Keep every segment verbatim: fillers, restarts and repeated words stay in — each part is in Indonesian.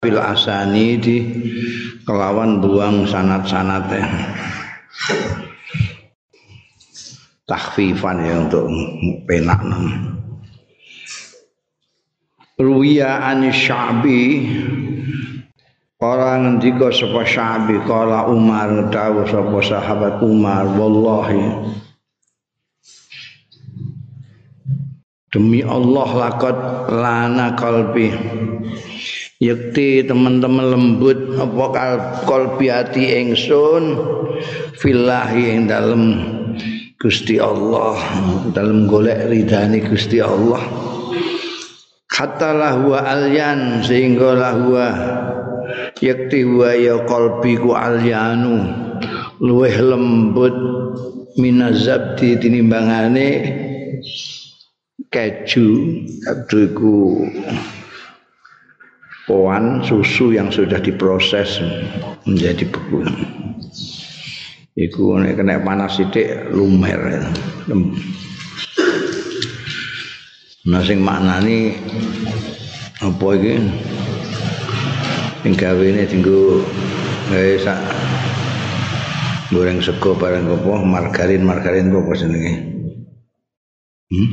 bil asani di kelawan buang sanad-sanate takhfifan ya untuk penak ruwiya an Sya'bi orang ngendika sapa Sya'bi kala Umar dawuh sapa sahabat Umar wallahi demi Allah lakot lana kalbi yakti teman-teman lembut apa kalbi hati ingsun fillahi ing dalem Gusti Allah dalem golek ridane Gusti Allah hatta lahu alyan sehingga lahu yakti wa ya kalbi ku alyanu luweh lembut minazabdi tinimbangane keju keju iku poan susu yang sudah diproses menjadi beku iku nek kena panas sithik lumer nah sing maknani apa iki sing gawene dienggo gawe sak goreng sego bareng apa margarin margarin apa jenenge hmm?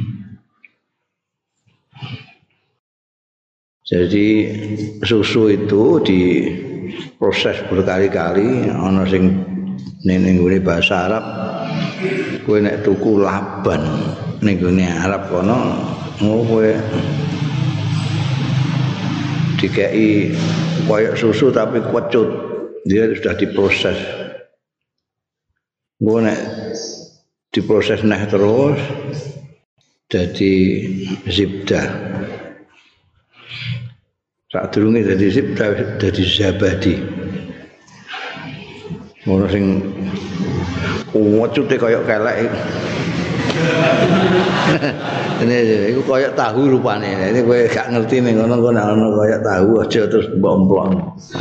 Jadi susu itu diproses berkali-kali ana sing ning ngene bahasa Arab kowe nek tuku laban ning ngene Arab kono kowe dikei koyo susu tapi kecut dia sudah diproses kowe nek diproses neh terus jadi zibdah saat durunge dadi zibdah dadi zabadi. Ono sing wecute kaya kelek. Ini iku kaya tahu rupane. Ini kowe gak ngerti ning ngono kok nek ono kaya tahu aja terus mbomplong.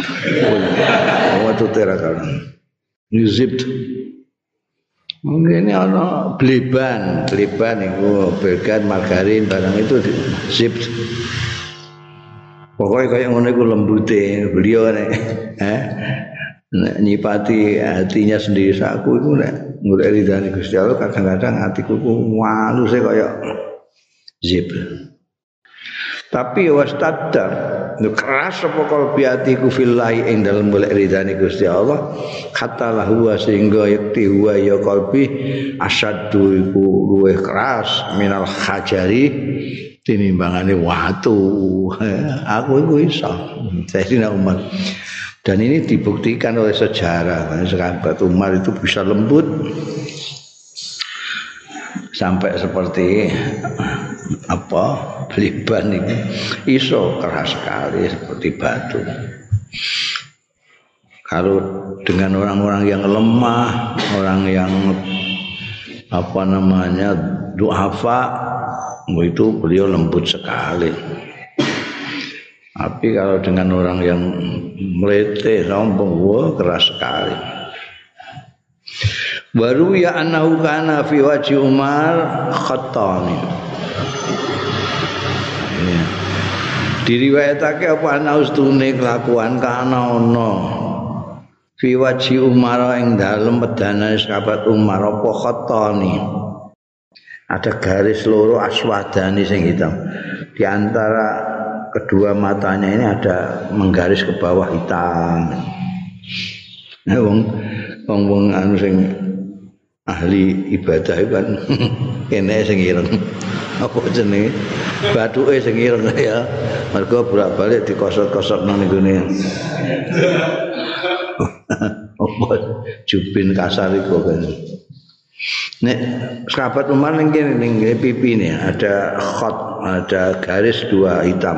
Wecute ra kan. Zibt. Mungkin ono bleban, bleban iku bergan margarin barang itu zibt. Pokoknya kayak ngono iku lembute beliau nek eh nek nyipati hatinya sendiri saku iku nek golek ridane Gusti Allah kadang-kadang hatiku ku waluse kaya zip. Tapi wastadda keras apa kalbi hatiku fillahi ing dalem golek ridane Gusti Allah kata lahu sehingga yakti huwa ya kalbi asyaddu iku luwih keras minal hajari tinimbangane watu. Aku iku iso. Sayyidina Umar. Dan ini dibuktikan oleh sejarah. Sahabat Umar itu bisa lembut sampai seperti apa? Bliban ini iso keras sekali seperti batu. Kalau dengan orang-orang yang lemah, orang yang apa namanya du'afa itu beliau lembut sekali. Tapi kalau dengan orang yang melete sombong, wah keras sekali. Baru ya annahu kana fi wajhi Umar khattani. Ya. Diriwayatake apa ana ustune kelakuan kana ana fi wajhi Umar ing dalem pedane sahabat Umar apa khattani. Ada garis loro aswadani sing hitam. Di antara kedua matanya ini ada menggaris ke bawah hitam. Nah, wong wong wong anu sing ahli ibadah kan kene sing ireng. Apa jenenge? Bathuke sing ireng ya. Mergo bolak-balik dikosot-kosot nang nggone. Apa jubin kasar iku kan. Nek sahabat Umar ning kene ning pipi ini ada khot, ada garis dua hitam.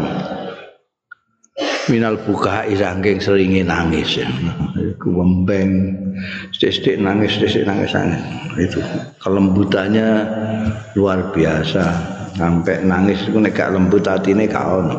Minal buka irangking seringe nangis ya. Iku wembeng, sithik nangis, sithik nangis nangis. Itu kelembutannya luar biasa. Sampai nangis iku nek gak lembut atine gak ono.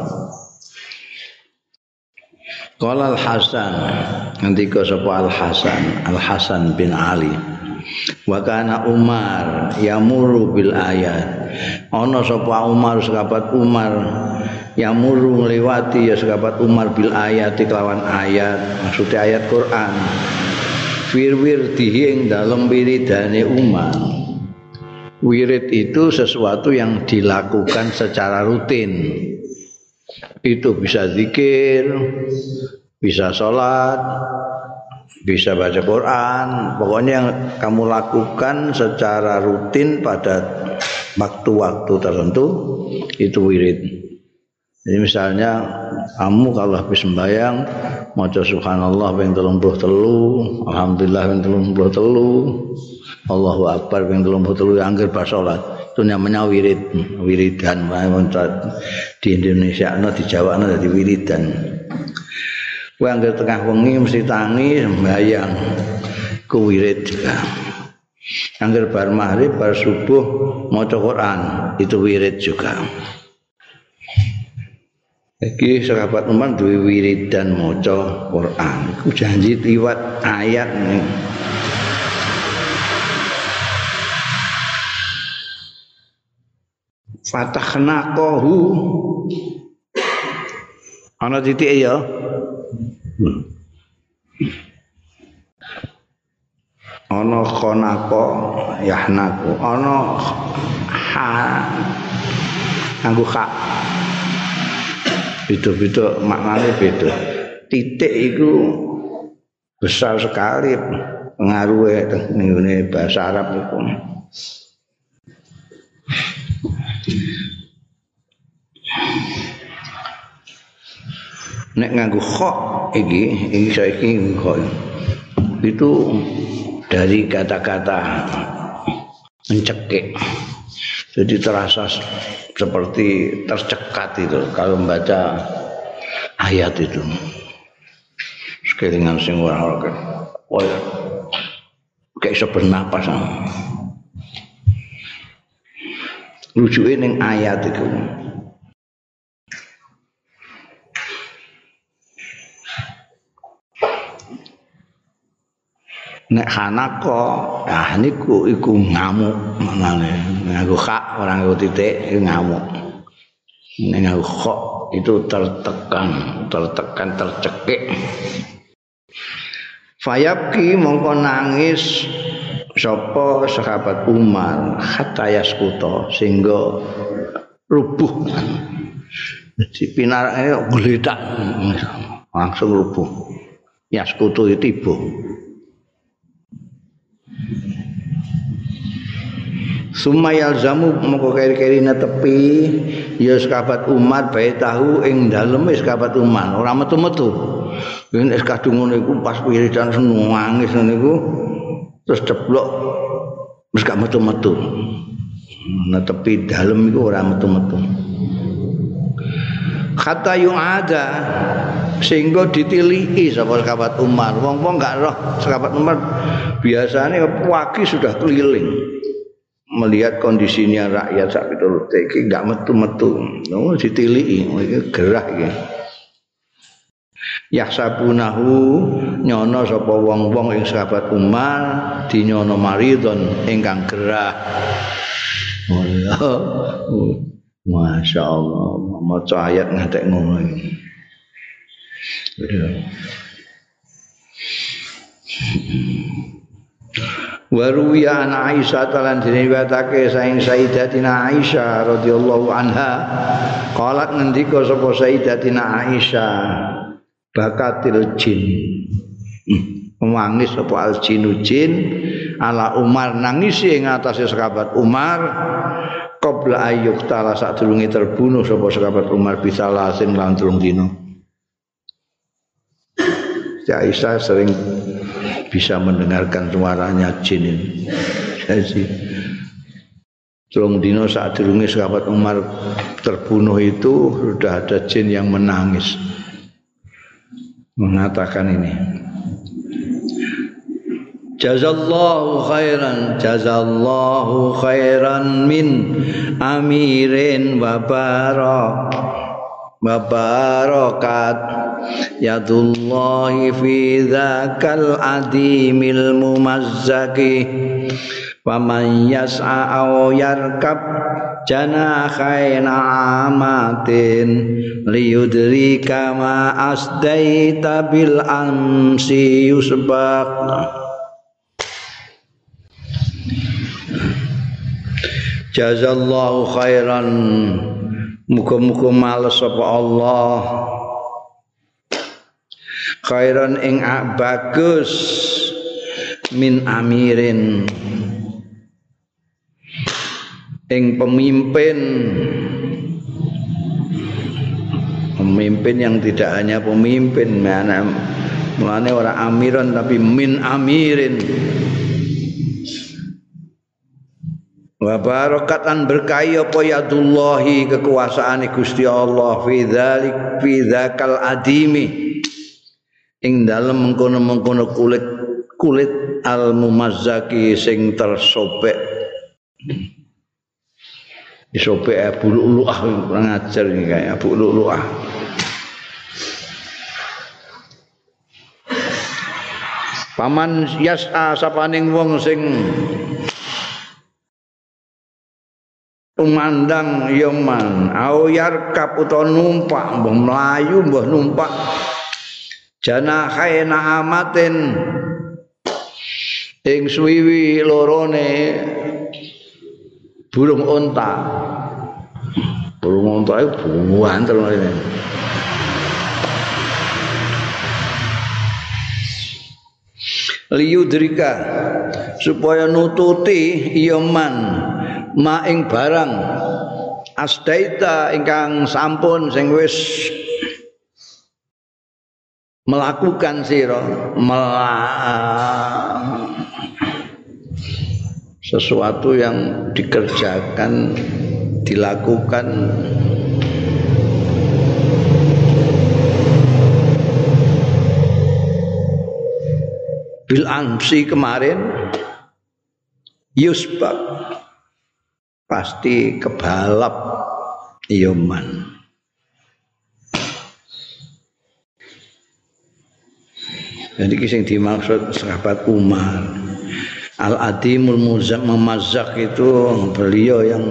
Qala Al-Hasan, ngendika sapa Al-Hasan, Al-Hasan bin Ali. Wa kana Umar yamuru bil ayat. ana sapa Umar sahabat Umar yang murung lewati ya sahabat Umar bil ayat kelawan ayat maksudnya ayat Quran wir-wir diing dalam wiridane Umar. Wirid itu sesuatu yang dilakukan secara rutin. Itu bisa zikir, bisa sholat, bisa baca Quran. Pokoknya yang kamu lakukan secara rutin pada waktu-waktu tertentu itu wirid. Jadi misalnya kamu kalau habis sembahyang maca subhanallah ping tiga puluh tiga, alhamdulillah ping tiga puluh tiga, Allahu akbar ping tiga puluh tiga angger bar salat. Itu namanya wirid, wiridan. Di Indonesia no di Jawa no dadi wiridan. Kowe angger tengah wengi mesti tangi sembahyang ku wirid juga. Angger bar maghrib bar subuh maca Quran itu wirid juga. Iki sahabat Umar duwe wiridan maca Quran. Iku janji liwat ayat nih. Fatahna qahu. Ana titik ya. Ana khonaqo yahnaku. Ana ha nganggo kha. Beda-beda maknanya beda. Titik itu besar sekali pengaruhnya ning bahasa Arab itu. Nek nganggo kha iki, iki saiki kha. Itu dari kata-kata mencekik. Jadi terasa seperti tercekat itu kalau membaca ayat itu. Sekelingan sing ora ora. Oh ya. Kayak iso bernapas. Rujuke ning ayat itu. Nek hanako, ah niku iku ngamuk manane. Nganggo kha orang nganggo titik ngamuk. Nek nganggo kha itu tertekan, tertekan, tercekik. Fayabki mongko nangis sapa sahabat Umar hatta yaskuta sehingga rubuh. Jadi pinarane gledak langsung rubuh. Yaskutu itu tiba. Sumayal zamu moko keri-keri netepi ya sahabat Umar bae tahu ing dalem sahabat Umar ora metu-metu. Yen es kadung ngono iku pas wiridan nangis niku terus ceblok wis gak metu-metu. Netepi dalem iku ora metu-metu. Kata yung ada sehingga ditiliki sapa sahabat Umar. Wong-wong gak roh sahabat Umar biasanya pagi sudah keliling. Melihat kondisinya rakyat sak pitulute iki gak metu-metu. No ditiliki iki gerah iki. Yahsabunahu nyono sapa wong-wong ing sahabat Umar dinyono maridon ingkang gerah. Oh, Masya Allah, maca ayat ngantek ngono iki. Waruya an Aisyah talan diriwayatake saing Sayyidatina Aisyah radhiyallahu anha qalat ngendika sapa Sayyidatina Aisyah bakatil jin nangis sapa al jinu jin ala Umar nangis ing atase sahabat Umar qabla ayyuk tala sadurunge terbunuh sapa sahabat Umar bisa lasin lan telung dina. Aisyah sering bisa mendengarkan suaranya jin ini. Jadi telung dino saat durunge sahabat Umar terbunuh itu sudah ada jin yang menangis mengatakan ini. Jazallahu khairan, jazallahu khairan min amirin wa barak wa barakat yadullahi fi dzakal adimil mumazzaki wa man yas'a aw yarkab janahaina amatin liyudrika ma asdaita bil amsi yusbaq. Jazallahu khairan, muga-muga males sapa Allah khairan ing bagus min amirin ing pemimpin pemimpin yang tidak hanya pemimpin, mana mulane ora amiron tapi min amirin. Wa barakatan berkahi apa yadullahi kekuasaane Gusti Allah fi dzalik fi dzakal adimi ing dalem mengkono-mengkono kulit kulit al mumazzaki sing tersobek disobek Abu Lu'lu'ah kurang ajar iki kayak Abu Lu'lu'ah. Paman yas'a sapaning wong sing tumandang ya man au yarkab utawa numpak mbah mlayu mbah numpak janahaina amatin ing suwiwi lorone burung unta. Burung unta iku buantel ngene. Liyudrika supaya nututi ya man ma ing barang asdaita ingkang sampun sing wis melakukan sira sesuatu yang dikerjakan dilakukan bil amsi kemarin yusbak pasti kebalap yoman. Jadi kisah dimaksud sahabat Umar Al-Adimul Memazzak itu beliau yang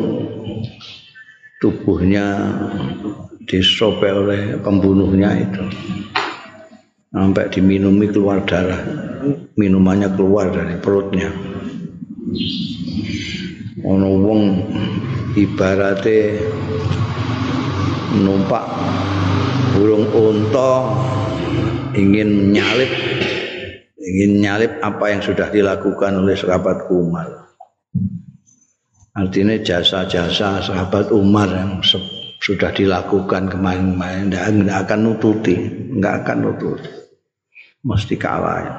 tubuhnya disobek oleh pembunuhnya itu sampai diminumi keluar darah, minumannya keluar dari perutnya. Ono wong ibarate numpak burung unta ingin menyalip ingin menyalip apa yang sudah dilakukan oleh sahabat Umar. Artinya jasa-jasa sahabat Umar yang sudah dilakukan kemarin-kemarin tidak akan nututi, tidak akan nututi, mesti kalah. Ya.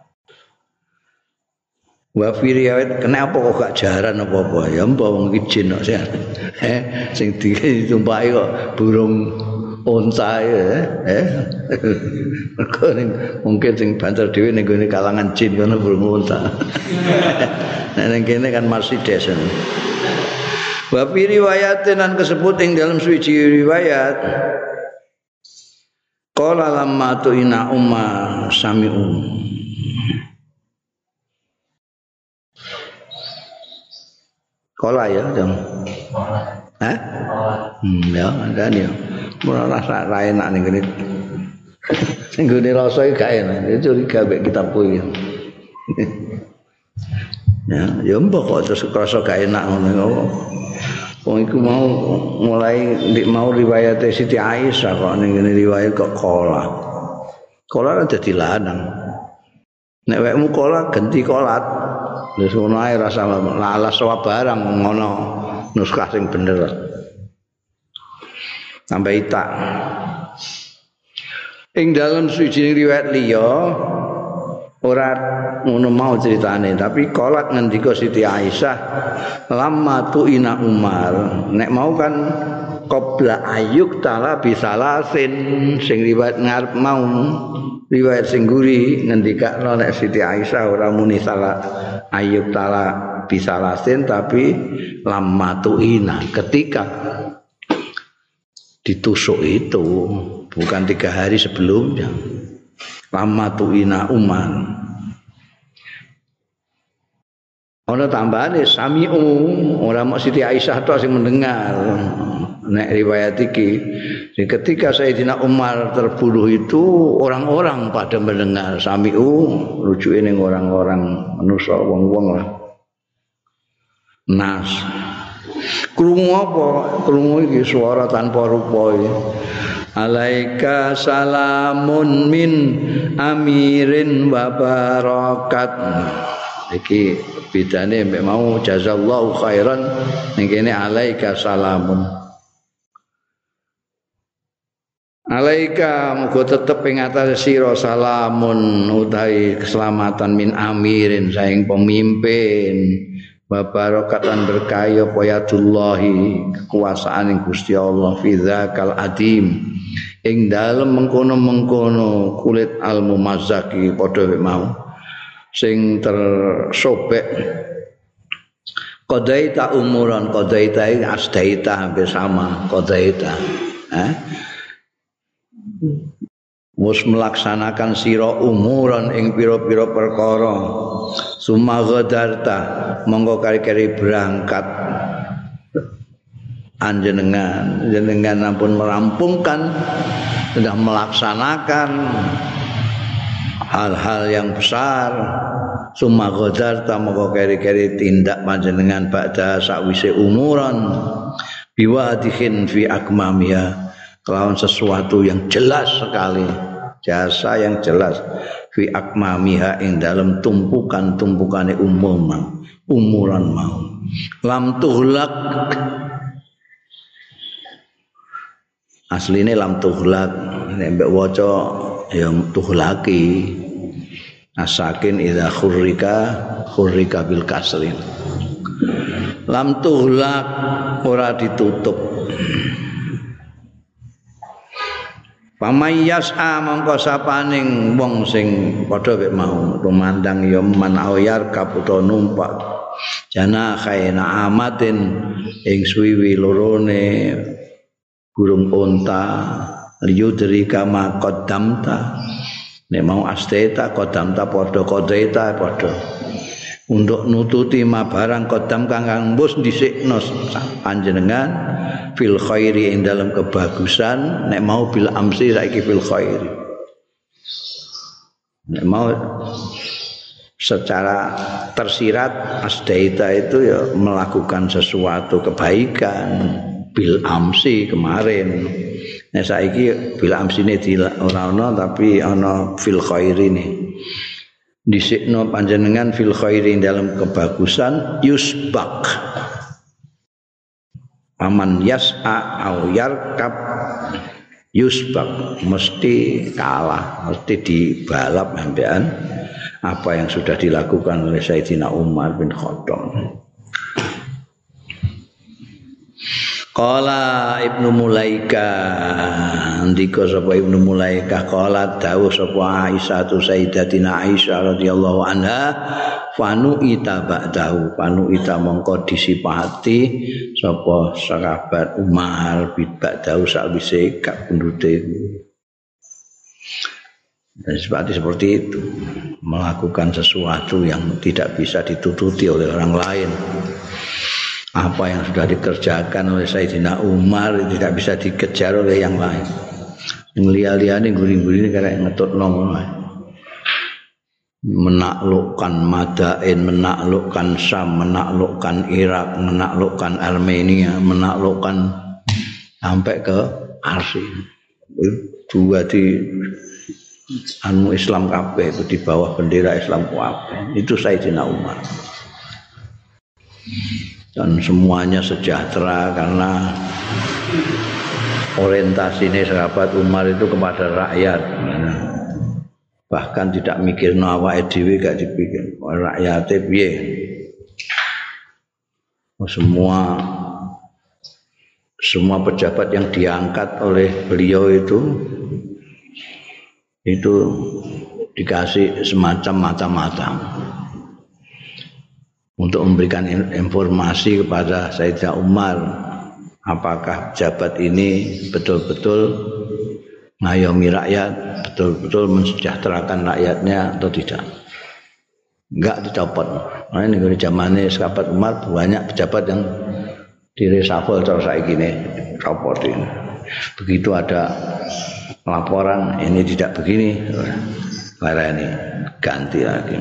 Wa fi riwayat kenapa kok gak jaran apa-apa ya mbah wong iki jin kok eh sing ditumpaki kok burung unta ya eh mungkin sing banter dhewe ning gone kalangan jin kono burung unta. Nah ning kene kan Mercedes. Wa fi riwayatin lan kesebut ing dalam suci riwayat qala lamma tu ina umma sami'u kola ya dong. Hah? Hmm ya kan ya. Ora rasa ra enak ning kene. Sing gone rasa iki gak enak. Curiga mek kitab kuwi. Ya, ya mbok kok terus krasa gak enak ngono. Wong iku mau mulai ndik mau riwayat Siti Aisyah kok ning kene riwayat kok kola. Kola dadi lanang. Nek wekmu kola ganti kolat. Wis ngono ae rasa lalas wae barang ngono nuskah sing bener. Sampai itak. Ing dalam suci riwayat liya ora ngono mau ceritane, tapi kolak ngendika Siti Aisyah lamma tuina Umar. Nek mau kan qabla ayuk tala bisalasin sing riwayat ngarep mau riwayat sing guri ngendikakno nek Siti Aisyah ora muni salah ayub tala bisalasin tapi lamma tuina ketika ditusuk itu bukan tiga hari sebelumnya. Lamma tuina Umar Ana tambahane sami'u, ora mok Siti Aisyah tok sing mendengar. Nek riwayat iki, ketika Sayyidina Umar terbunuh itu orang-orang pada mendengar sami'u, rujuke ning orang-orang manusa wong-wong lah. Nas. Krungu apa? Krungu iki swara tanpa rupa iki. Alaika salamun min amirin wa barakat. Iki bedane mek mau jazallahu khairan ning kene alaika salamun. Alaika muga tetep ing atase sira salamun utawi keselamatan min amirin saing pemimpin wa barakatan berkaya poyatullahi kekuasaan ing Gusti Allah fi dzakal adim ing dalem mengkono-mengkono kulit al mumazzaki padha mau sing tersobek qadaita umuran qadaita ing asdaita hampir sama qadaita eh mus melaksanakan sira umuran ing pira-pira perkara summa ghadarta monggo kari-kari berangkat anjenengan jenengan ampun merampungkan sudah melaksanakan hal-hal yang besar summa ghadarta monggo kari-kari tindak panjenengan ba'da sakwise umuran biwadihin fi akmamiha kelawan sesuatu yang jelas sekali jasa yang jelas fi akmamiha ing dalam tumpukan-tumpukane umum umuran mau lam tuhlak asline lam tuhlak nek waca ya tuhlaki asakin idza khurrika khurrika bil kasrin lam tuhlak ora ditutup. Pamayas a mongko sapaning wong sing padha wek mau tumandang ya man ayar kaputa numpak jana khaina amatin ing suwi lorone burung unta liyudri kama qaddamta nek mau asteta qaddamta padha qadaita padha untuk nututi ma barang qaddam kang mbus dhisikno panjenengan fil khairi ing dalam kebagusan nek mau bil amsi saiki fil khairi nek mau secara tersirat asdaita itu ya melakukan sesuatu kebaikan bil amsi kemarin nek saiki bil amsine ora ana tapi ana fil khairi ne dhisikno panjenengan fil khairi ing dalam kebagusan yusbak paman yas'a au yarkab yusbak mesti kalah mesti dibalap sampean apa yang sudah dilakukan oleh Sayyidina Umar bin Khattab. Qala Ibnu Mulaika ndika sapa Ibnu Mulaika qala dawuh sapa Aisyah tu Sayyidatina Aisyah radhiyallahu anha fanu ita ba'dahu fanu ita mongko disipati sapa sahabat Umar bin ba'dahu sakwise gak pendute dan seperti seperti itu melakukan sesuatu yang tidak bisa ditututi oleh orang lain. Apa yang sudah dikerjakan oleh Sayyidina Umar tidak bisa dikejar oleh yang lain. Ngelia-liane guring-guring karek ngetutno menaklukkan Madain, menaklukkan Syam, menaklukkan Irak, menaklukkan Armenia, menaklukkan sampai ke Arsy. Dua di anu Islam kabeh itu di bawah bendera Islam kabeh. Itu Sayyidina Umar. Dan semuanya sejahtera karena orientasinya sahabat Umar itu kepada rakyat, bahkan tidak mikir awake dhewe gak dipikir rakyate piye. Semua semua pejabat yang diangkat oleh beliau itu itu dikasih semacam mata-mata untuk memberikan informasi kepada Sayyidina Umar apakah jabat ini betul-betul ngayomi rakyat, betul-betul mensejahterakan rakyatnya atau tidak. Enggak dicopot. Nah ini di zamannya sahabat Umar banyak pejabat yang direshuffle cara saiki ini rapotin. Begitu ada laporan ini tidak begini, karena ini ganti lagi.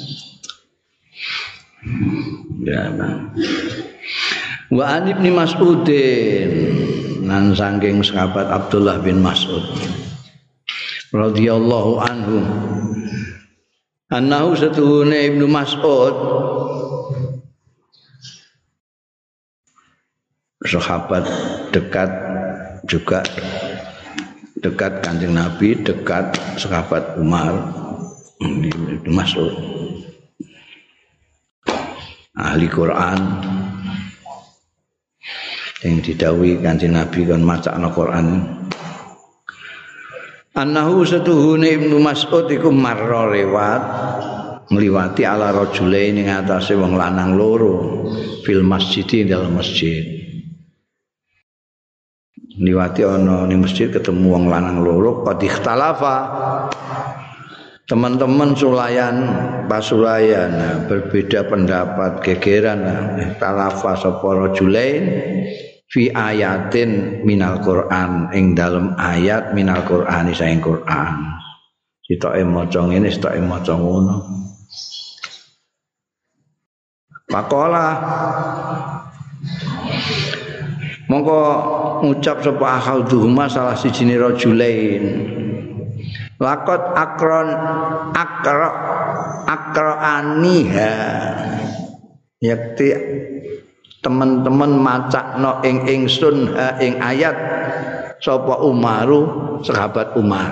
Ya, Bang. Wa an Ibnu Mas'udin nan saking sahabat Abdullah bin Mas'ud radhiyallahu anhu annahu satuhune Ibnu Mas'ud sahabat dekat juga dekat Kanjeng Nabi, dekat sahabat Umar Ibnu Mas'ud ahli Quran yang didhawuhi Kanjeng Nabi kan macakna Quran. Annahu satuhune Ibnu Mas'ud iku marra lewat ngliwati ala rajulain ing atase wong lanang loro fil masjid dalam masjid. Ngliwati ana ning masjid ketemu wong lanang loro qad ikhtalafa. Teman-teman sulayan pasulayan berbeda pendapat gegeran ikhtalafa sapa rajulain fi ayatin minal Quran ing dalem ayat minal Qur'ani saing Quran. Sitoke maca ngene, sitoke maca ngono. Pakola mongko ngucap sapa akhadhuhuma salah sijine rajulain. Laqad akron akra akraaniha yakti teman-teman macakno ing ingsun ha ing ayat sapa Umaru sahabat Umar.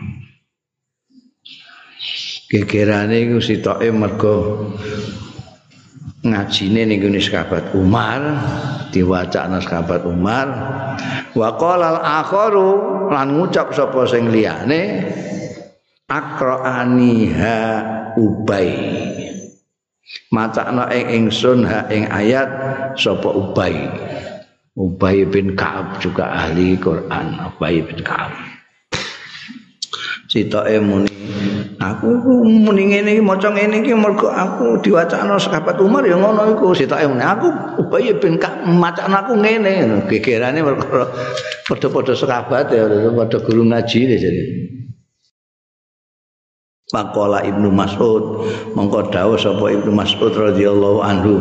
Gegerane iku sitoke mergo ngajine ning gone sahabat Umar, diwacana sahabat Umar. Wa qala al-akharu lan ngucap sapa sing liyane akraaniha Ubay. Macakna ing ingsun ha ing ayat sapa Ubay. Ubay bin Ka'ab juga ahli Quran, Ubay bin Ka'ab. Sitoke muni aku muni ngene iki maca ngene iki mergo aku diwacana sahabat Umar ya ngono iku. Sitoke muni aku Ubay bin Ka'ab macakna aku ngene. Gegerane mergo padha-padha sahabat ya padha guru ngaji jadi. Maqala Ibnu Mas'ud mongko dawuh sapa Ibnu Mas'ud radhiyallahu anhu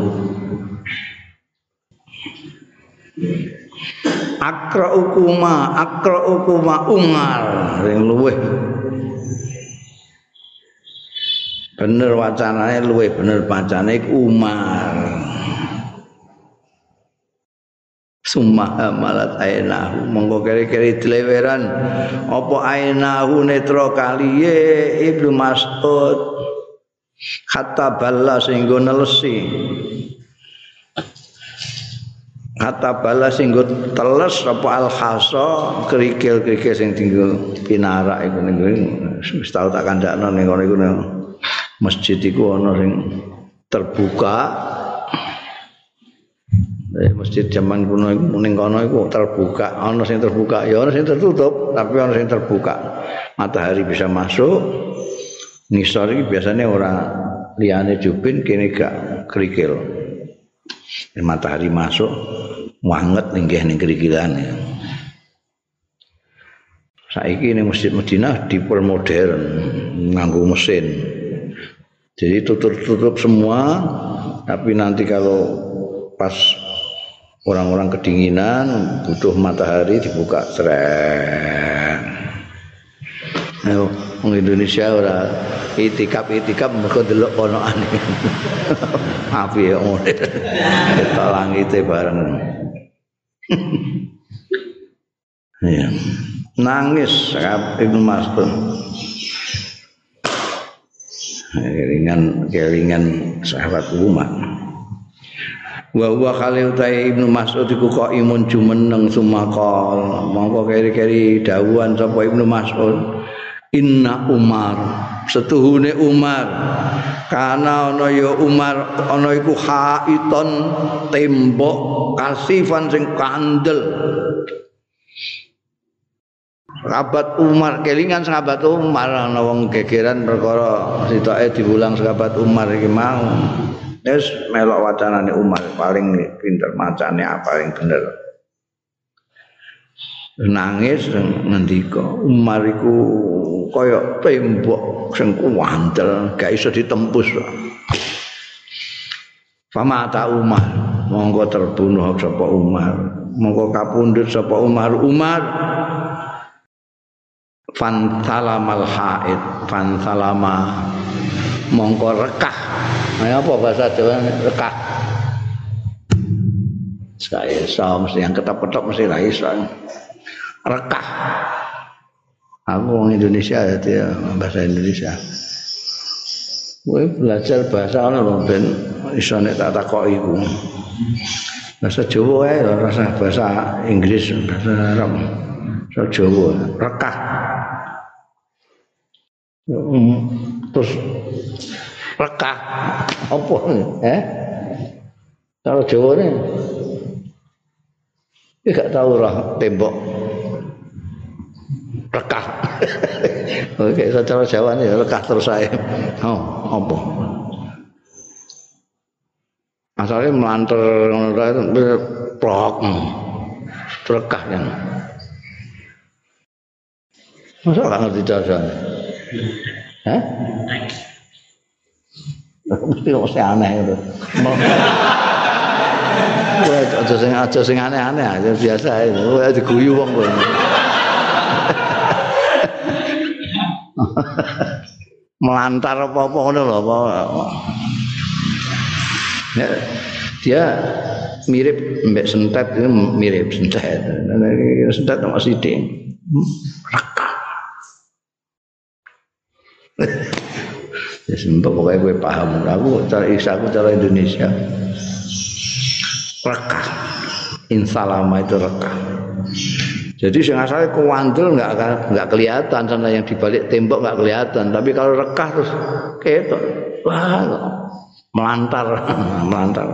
akraukuma akraukuma Umar sing luweh bener wacanane luweh bener bacane Umar. Summa malat ainahu monggo keri-keri dileweran apa ainahu netra kaliye Ibnu Mas'ud hatta balla singgo nelesi hatta balla singgo teles apa al-hasa kerikil-kerikil sing tinggal pinarak iku ning wis tau tak kandakno ning kono iku masjid iku ana sing terbuka. Eh, masjid zaman kuno iku ning kono iku terbuka, ana sing terbuka ya ana sing tertutup, tapi ana sing terbuka. Matahari bisa masuk. Ngisor iki biasanya ora liyane jubin kene gak kerikil. Matahari masuk wanget ninggih ning kerikilane. Saiki ning Masjid Madinah dipermodern nganggo mesin. Jadi tutup-tutup semua, tapi nanti kalau pas orang-orang kedinginan butuh matahari dibuka seret. Nah, orang Indonesia ora itikaf itikaf mergo delok ponokane. Api ya ngene. Ketok langite bareng. Ya. Nangis Ibnu Mas'ud. Kelingan kelingan sahabat Umar. Wa huwa khalil ta'i Ibnu Mas'ud iku kok imun jumeneng sumakal mongko keri-keri dawuhan sapa Ibnu Mas'ud inna Umar setuhune Umar kana ana ya Umar ana iku haiton tembok kasifan sing kandel sahabat Umar kelingan sahabat Umar ana wong gegeran perkara sitoke diulang sahabat Umar iki mau Wis melok wacanane Umar paling pinter macane paling bener. Nangis ngendika Umar iku kaya tembok sing kuwantel gak iso ditembus. Famata Umar monggo terbunuh sapa Umar monggo kapundhut sapa Umar Umar fan salamal haid fan salama mongko rekah. Nah, apa bahasa Jawa rekah? Saya iso mesti yang ketop-ketop mesti ra iso. Rekah. Aku orang Indonesia jadi bahasa Indonesia. Kowe belajar bahasa ana lho ben iso nek tak takoki iku. Bahasa Jawa ae rasa bahasa Inggris, bahasa Arab. Bahasa Jawa rekah. Terus rekah apa eh kalau Jawa ni dia tak tahu lah tembok rekah. Oke, secara Jawa ni rekah terus saya. Oh, apa? Asalnya melantar itu plok, rekah kan? Masa tak ngerti cara? Hah? Mesti mesti aneh itu. Wah, aja sing aja sing aneh-aneh aja biasa itu. Wah, diguyu wong kowe. Melantar apa-apa ngono lho apa. Ya, dia mirip mbek sentet itu mirip sentet. Sentet sama sithik. Rekah. Ya sembah pokoknya gue paham. Aku cara aku cara Indonesia rekah. Insalama itu rekah. Jadi yang asalnya kuandel nggak nggak kelihatan sana yang dibalik tembok nggak kelihatan. Tapi kalau rekah terus ketok, wah melantar, melantar.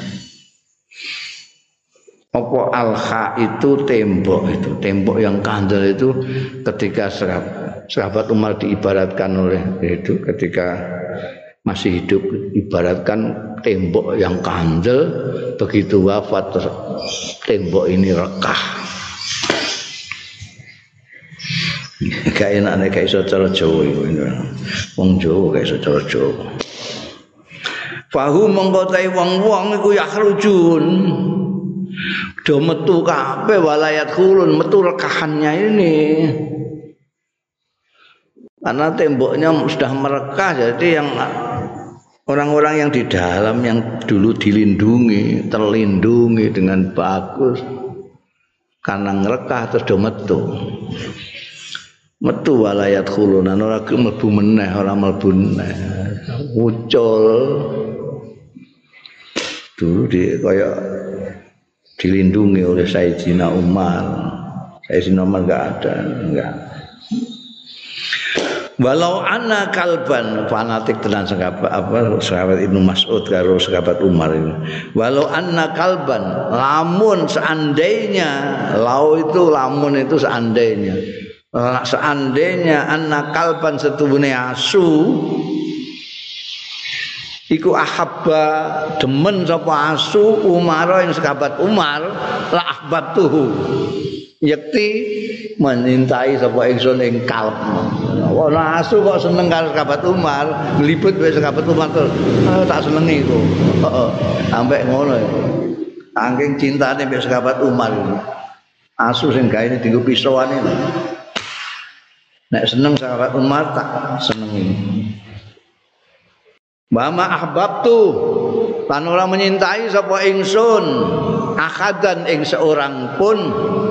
Apa alha itu tembok itu tembok yang kandel itu ketika sahabat, sahabat Umar diibaratkan oleh itu ketika masih hidup ibaratkan tembok yang kandel begitu wafat tembok ini rekah. Gak enak nek gak iso cara Jawa iku. Wong Jawa gak iso cara Jawa. Fahu mongko tae wong-wong iku yahrujun. Do metu kabeh walayat khulun metu rekahannya ini. Karena temboknya sudah merekah jadi yang orang-orang yang di dalam yang dulu dilindungi, terlindungi dengan bagus karena ngerekah terus do metu. Metu walayat khulunan ora mlebu meneh ora mlebu meneh muncul dulu di kaya dilindungi oleh Sayyidina Umar. Sayyidina Umar enggak ada enggak. Walau anna kalban fanatik tenan sahabat apa sahabat Ibnu Mas'ud karo sahabat Umar ini. Walau anna kalban lamun seandainya lau itu lamun itu seandainya seandainya anna kalban setubune asu iku ahabba demen sapa asu Umar yang sahabat Umar la ahbabtuhu yakti menyintai sapa ingsun ing kalb. Ana asu kok seneng karo sahabat Umar, nglibet wis sahabat Umar terus oh, tak senengi iku. Heeh. Sampai ngono iku. Saking cintane mbek sahabat Umar. Asu sing gaene dienggo pisauan iki. Nek seneng sahabat Umar tak senengi. Mama ahbabtu lan ora menyintai sapa ingsun akadan ing seorang pun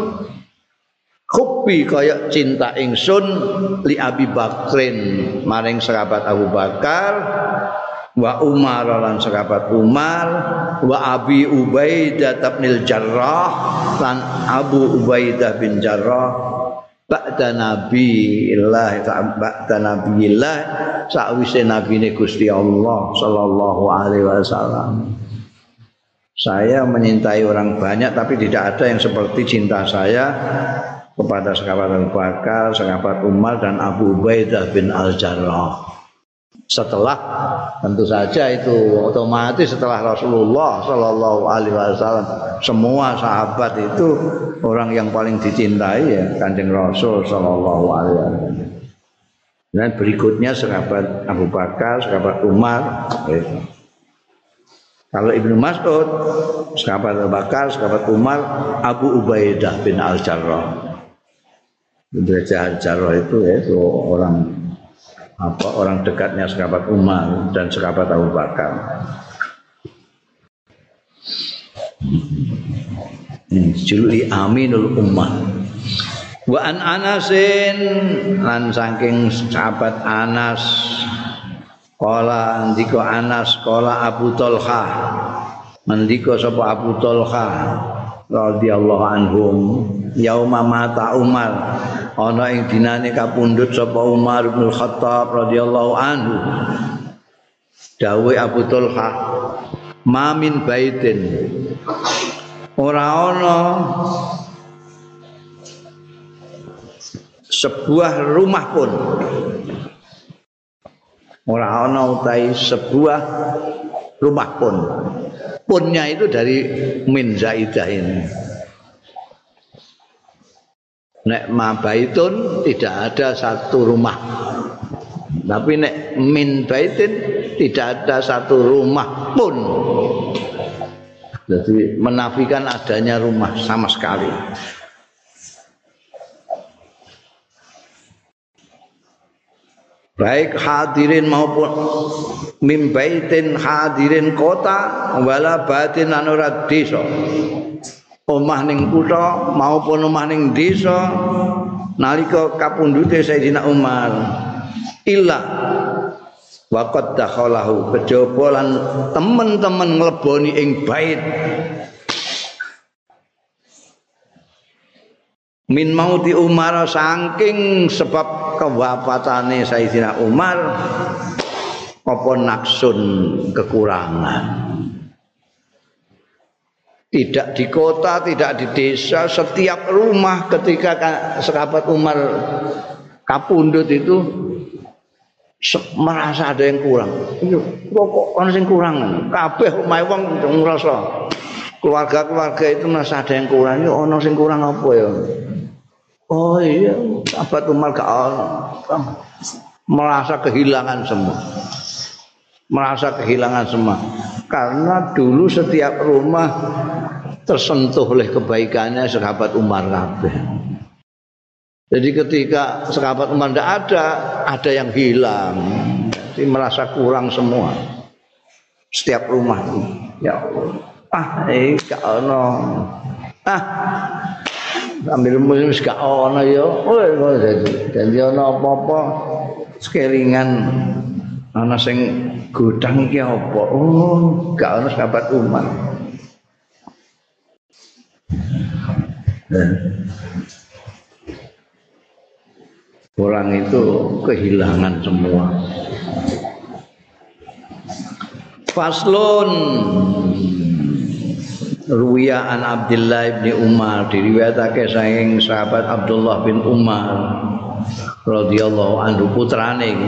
hubbi kaya cinta ingsun li Abi Bakrin maring sahabat Abu Bakar wa Umar lan sahabat Umar wa Abi Ubaidah bin Jarrah lan Abu Ubaidah bin Jarrah ba'da nabiillah ba'da nabiillah sakwise nabine Gusti Allah sallallahu alaihi wasallam. Saya menyintai orang banyak tapi tidak ada yang seperti cinta saya kepada sahabat Abu Bakar, sahabat Umar dan Abu Ubaidah bin Al-Jarrah. setelah tentu saja itu otomatis setelah Rasulullah Shallallahu Alaihi Wasallam semua sahabat itu orang yang paling dicintai ya Kanjeng Rasul Shallallahu Alaihi Wasallam. Dan berikutnya sahabat Abu Bakar, sahabat Umar. Gitu. Kalau Ibnu Mas'ud, sahabat Abu Bakar, sahabat Umar, Abu Ubaidah bin Al-Jarrah. Ubaidah Al-Jarrah itu yaitu orang apa orang dekatnya sahabat Umar dan sahabat Abu Bakar. Ini juluki Aminul Ummah. Wa an Anasin lan saking sahabat Anas Kala ndika Anas kala Abu Thalha mendika sapa Abu Thalha radhiyallahu anhum yauma mata Umar ana ing dinane kapundhut sapa Umar bin Khattab radhiyallahu anhu dawuh Abu Thalha ma min baitin ora ana sebuah rumah pun ora ana utai sebuah rumah pun. Punnya itu dari min zaidah ini. Nek ma baitun tidak ada satu rumah. Tapi nek min baitin tidak ada satu rumah pun. Jadi menafikan adanya rumah sama sekali. Baik hadirin maupun mim baitin hadirin kota wala batin lan ora desa. Omah ning kutha maupun omah ning desa nalika kapundhute Sayyidina Umar illa waqad dakhalahu kejaba lan temen-temen ngleboni ing bait min mauti Umar saking sebab kewafatane Sayyidina Umar apa naksun kekurangan. Tidak di kota, tidak di desa, setiap rumah ketika sahabat Umar kapundhut itu merasa ada yang kurang. Kok ana sing kurang? Kabeh omahe wong ngrasa keluarga-keluarga itu merasa ada yang kurang. Yo ana sing kurang apa ya? Oh iya, sahabat Umar gak merasa kehilangan semua. Merasa kehilangan semua. Karena dulu setiap rumah tersentuh oleh kebaikannya sahabat Umar kabeh. Jadi ketika sahabat Umar tidak ada, ada yang hilang. Jadi merasa kurang semua. Setiap rumah. Ya Allah. Ah, eh gak ono. Ah, ambil muslim gak ono ya. Oh, jadi jadi ono apa-apa sekelingan ana sing godang iki apa? Oh, gak ono sahabat Umar. Nah. Orang itu kehilangan semua. Faslun Ruwiya an Abdullah bin Umar diriwayatake saking sahabat Abdullah bin Umar radhiyallahu anhu putrane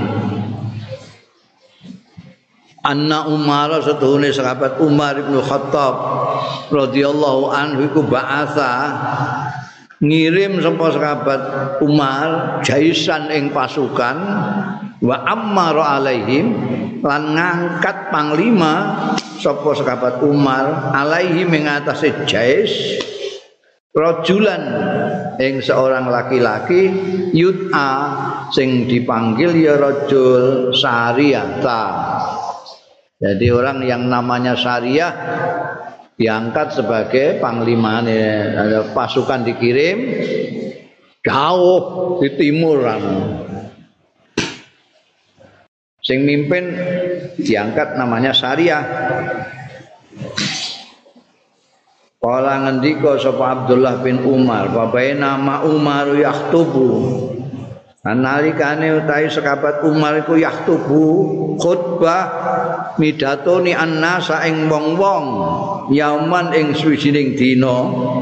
anna Umar setuhune sahabat Umar bin Khattab radhiyallahu anhu iku ba'atha ngirim sapa sahabat Umar jaisan ing pasukan wa ammara alaihim lan ngangkat panglima sapa sahabat Umar alaihi ing atase jais rajulan ing seorang laki-laki yut'a sing dipanggil ya rajul Sariyata. Jadi orang yang namanya Sariyah diangkat sebagai panglima, ada pasukan dikirim jauh di timuran. Sing mimpin diangkat namanya Sariyah. Kala ngendika sapa Abdullah bin Umar, babae nama Umar yaktubu. Nalikane utahe sahabat Umar iku yaktubu khutbah midatoni annasa ing wong-wong yauman ing swijining dina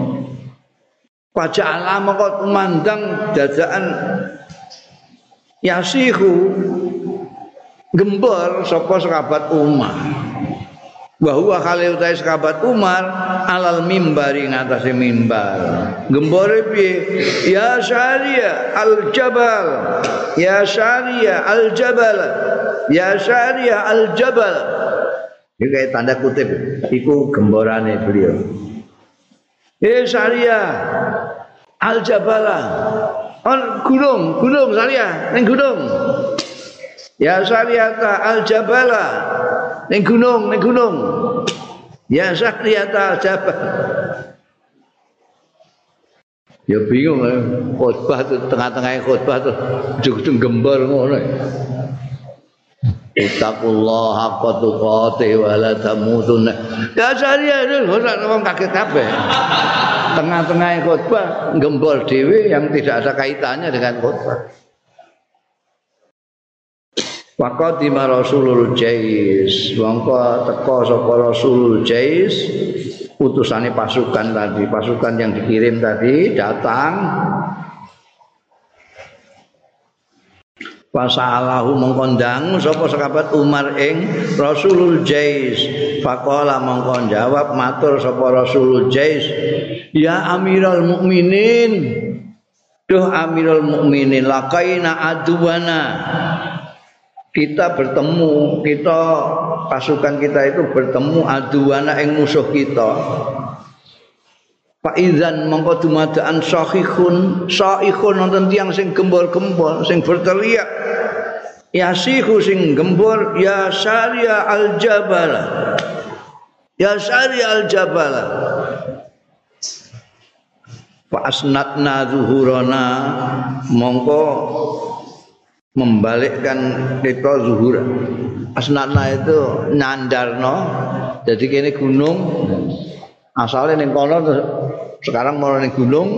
pajala moko tumandang dadaan yasihu gembor sapa sahabat Umar. Wa huwa khalil ta sahabat Umar alal mimbari ngatasé mimbar. Gembore piye? Ya Syariya al-Jabal. Ya Syariya al-Jabal. Ya Syariya al-Jabal. Iki kayak tanda kutip, iku gemborane beliau. Eh Syariya al-Jabala. On gunung, gunung Syariya, ning gunung. Ya Syariata al-Jabala. Ning gunung, ning gunung. Ya Syariata al-Jabal. Ya bingung ya. Khotbah tuh tengah-tengah khotbah tuh ujung-ujung gembor ngono. Ittaqullah haqqa tuqatih wa la tamutunna. Ya Syariah ora wong kaget kabeh. Tengah-tengah khotbah gembor dhewe yang tidak ada kaitannya dengan khotbah. Waqadima Rasulul Jais, mongko teka sapa Rasulul Jais, utusane pasukan tadi, pasukan yang dikirim tadi datang. Fasalahu mongko ndang sapa sahabat Umar ing Rasulul Jais. Faqala mongko jawab matur sapa Rasulul Jais, ya Amirul Mukminin, duh Amirul Mukminin, laqaina aduwana. Kita bertemu, kita pasukan kita itu bertemu aduwana ing musuh kita. Fa idzan mongko dumadaan sahihun, sahihun wonten tiyang sing gembor-gembor, sing berteriak. Ya sihu sing gembor, ya Syariya al-Jabal. Ya Syariya al-Jabal. Fa asnatna zuhurana mongko membalikkan kita zuhur. Asnatna itu nyandarno. Jadi kene gunung asalnya ning kono sekarang mau ning gunung.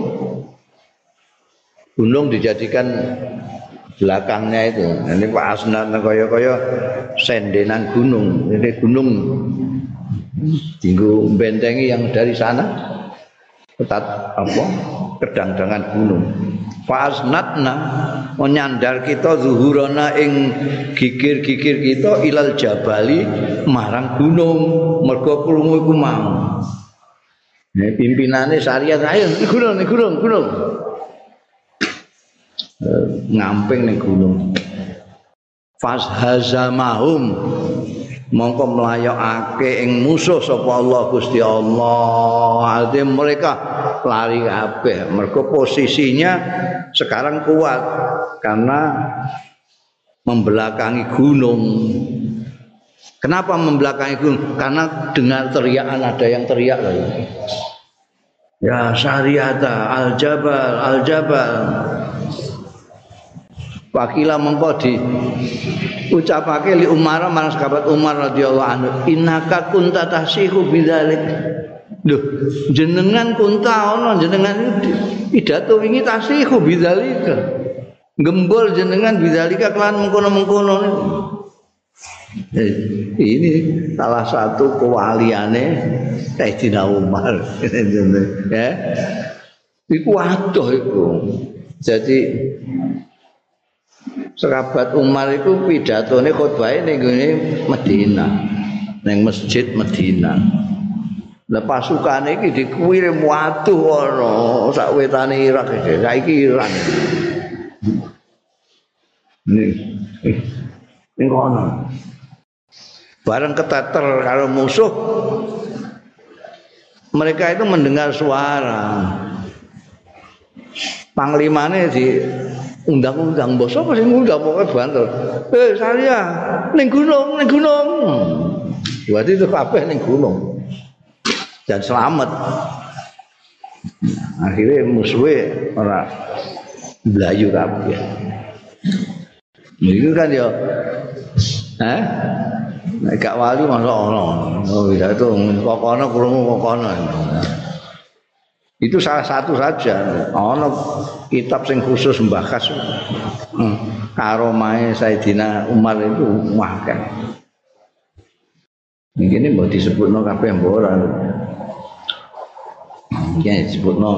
Gunung dijadikan belakangnya itu. Ini Pak Asnatna kaya-kaya sendenan gunung. Ini gunung tinggu bentengi yang dari sana. Ketat apa? Kedang-dangan gunung. Fasnatna menyandar kita zuhurana ing gigir-gigir kita ilal jabali marang gunung mergo krungu iku mau. Nah, pimpinane Syariah ayo gunung ning gunung gunung. Ngamping ning gunung. Fashazamahum mongko mlayokake ing musuh sapa Allah Gusti Allah. Artinya mereka lari kabeh mergo posisinya sekarang kuat karena membelakangi gunung. Kenapa membelakangi gunung? Karena dengar teriakan, ada yang teriak lagi. Ya Syariata al-Jabal al-Jabal. Wakila mengko di ucapake li Umar marang sahabat Umar radhiyallahu anhu, innaka kunta tahsihu bidzalik. Lho, jenengan kunta ana jenengan pidato wingi tahsihu bidzalika. Gembol jenengan bidzalika kelan mengkono-mengkono. Ini salah satu kewaliane Sayyidina Umar. Ya. Iku adoh iku. Jadi sahabat Umar itu pidatone khotbahe ning gone Madinah, ning Masjid Madinah. Lah pasukane iki dikirim waduh ana sak wetane Irak iki, saiki Iran. Nih. Ning kono. Bareng keteter karo musuh, mereka itu mendengar suara. Panglimane di undang-undang bos apa sing ngundang pokoke banter. Eh Syariah ning gunung, ning gunung. Berarti itu kabeh ning gunung. Dan selamat. Akhirnya musuhe ora blayu kabeh. Itu kan ya eh nek gak wali masa ono. Oh bisa itu kokono krungu kokono. Itu salah satu saja. Ono kitab sing khusus membahas hmm, karomahe Sayyidina Umar itu akeh. Ini mau disebutno kabeh mbok ora. Ya disebutno.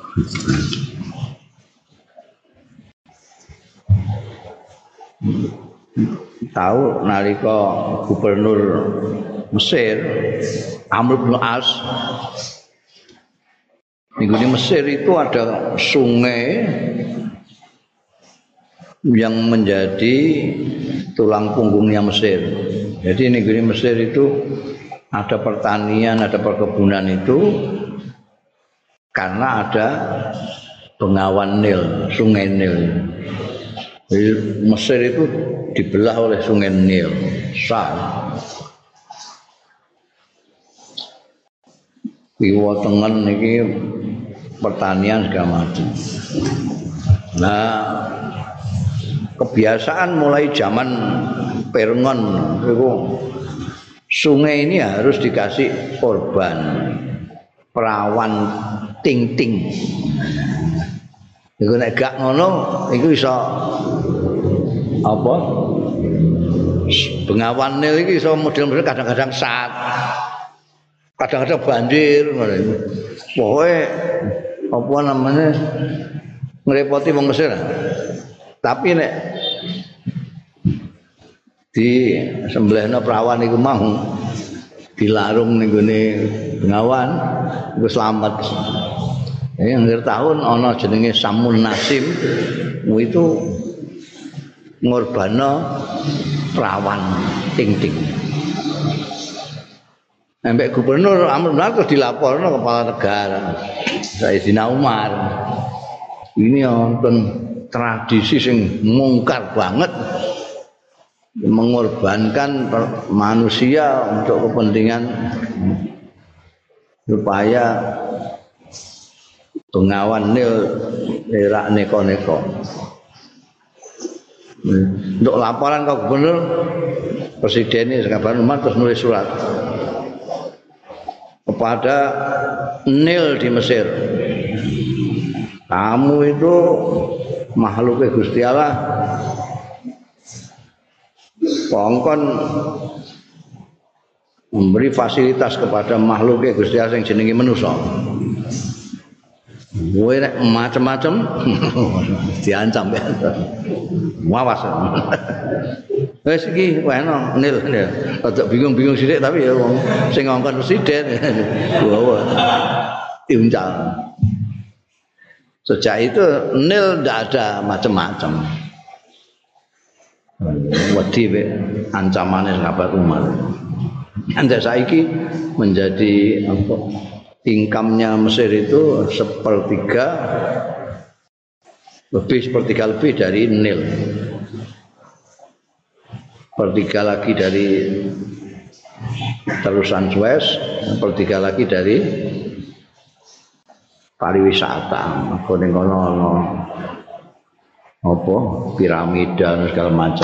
Hmm. tahu nalika gubernur Mesir Amr bin As di Mesir itu ada sungai yang menjadi tulang punggungnya Mesir. Jadi negeri Mesir itu ada pertanian, ada perkebunan itu karena ada bengawan Nil, sungai Nil. Jadi Mesir itu dibelah oleh sungai Nil. Besar. Kiwa tengen iki pertanian segala macam. Nah, kebiasaan mulai zaman Pirngon itu sungai ini harus dikasih korban perawan ting-ting. Iku nek gak ngono iku iso apa? Bengawan Nil iki iso model-model kadang-kadang saat kadang-kadang banjir ngono iku. Pokoke apa namanya ngrepoti wong Mesir. Tapi nek di sembelihna perawan iku mau dilarung ning gone bengawan iku slamet. Ya akhir tahun ana jenenge Samun Nasim itu ngorbana perawan ting-ting. Sampai gubernur Amr bin As dilaporno kepala negara Sayyidina Umar. Ini wonten tradisi sing mungkar banget mengorbankan manusia untuk kepentingan supaya bengawan Nil ora neko-neko. Untuk laporan ke gubernur presiden ini Sayyidina Umar terus nulis surat kepada Nil di Mesir. Kamu itu makhluknya Gusti Allah kongkon memberi fasilitas kepada makhluknya Gusti Allah yang jenenge manusia. Kowe nek macam-macam diancam ya. Wawas. Wes iki weno Nil. Rada bingung-bingung sithik tapi ya wong sing ngongkon presiden. Wow. Diuncal. Sejak itu Nil ndak ada macam-macam. Wedi be ancamane sahabat Umar. Anda saiki menjadi apa? Income-nya Mesir itu sepertiga lebih sepertiga lebih dari Nil. Sepertiga lagi dari terusan Suez, sepertiga lagi dari pariwisata. Aku ning kono ana apa piramida segala macam.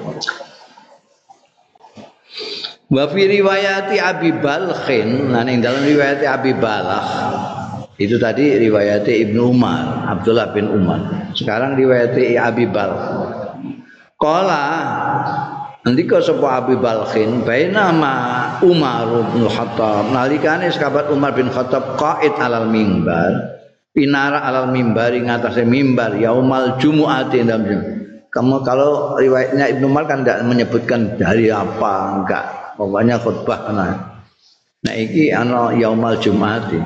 Wa fi riwayati Abi Balkhin, nah ning dalam riwayat Abi Balakh itu tadi riwayat Ibnu Umar, Abdullah bin Umar. Sekarang riwayat Abi Balkh. Qala ndika sapa Abi Balkhin bainama Umar bin Khattab nalikane sahabat Umar bin Khattab qaid alal mimbar, pinara alal mimbar ing atase mimbar yaumal jumu'ati dalam. Kamu kalau riwayatnya Ibnu Umar kan tidak menyebutkan dari apa, enggak. Pokoknya khutbah nah. Nah iki ana yaumal jum'ati.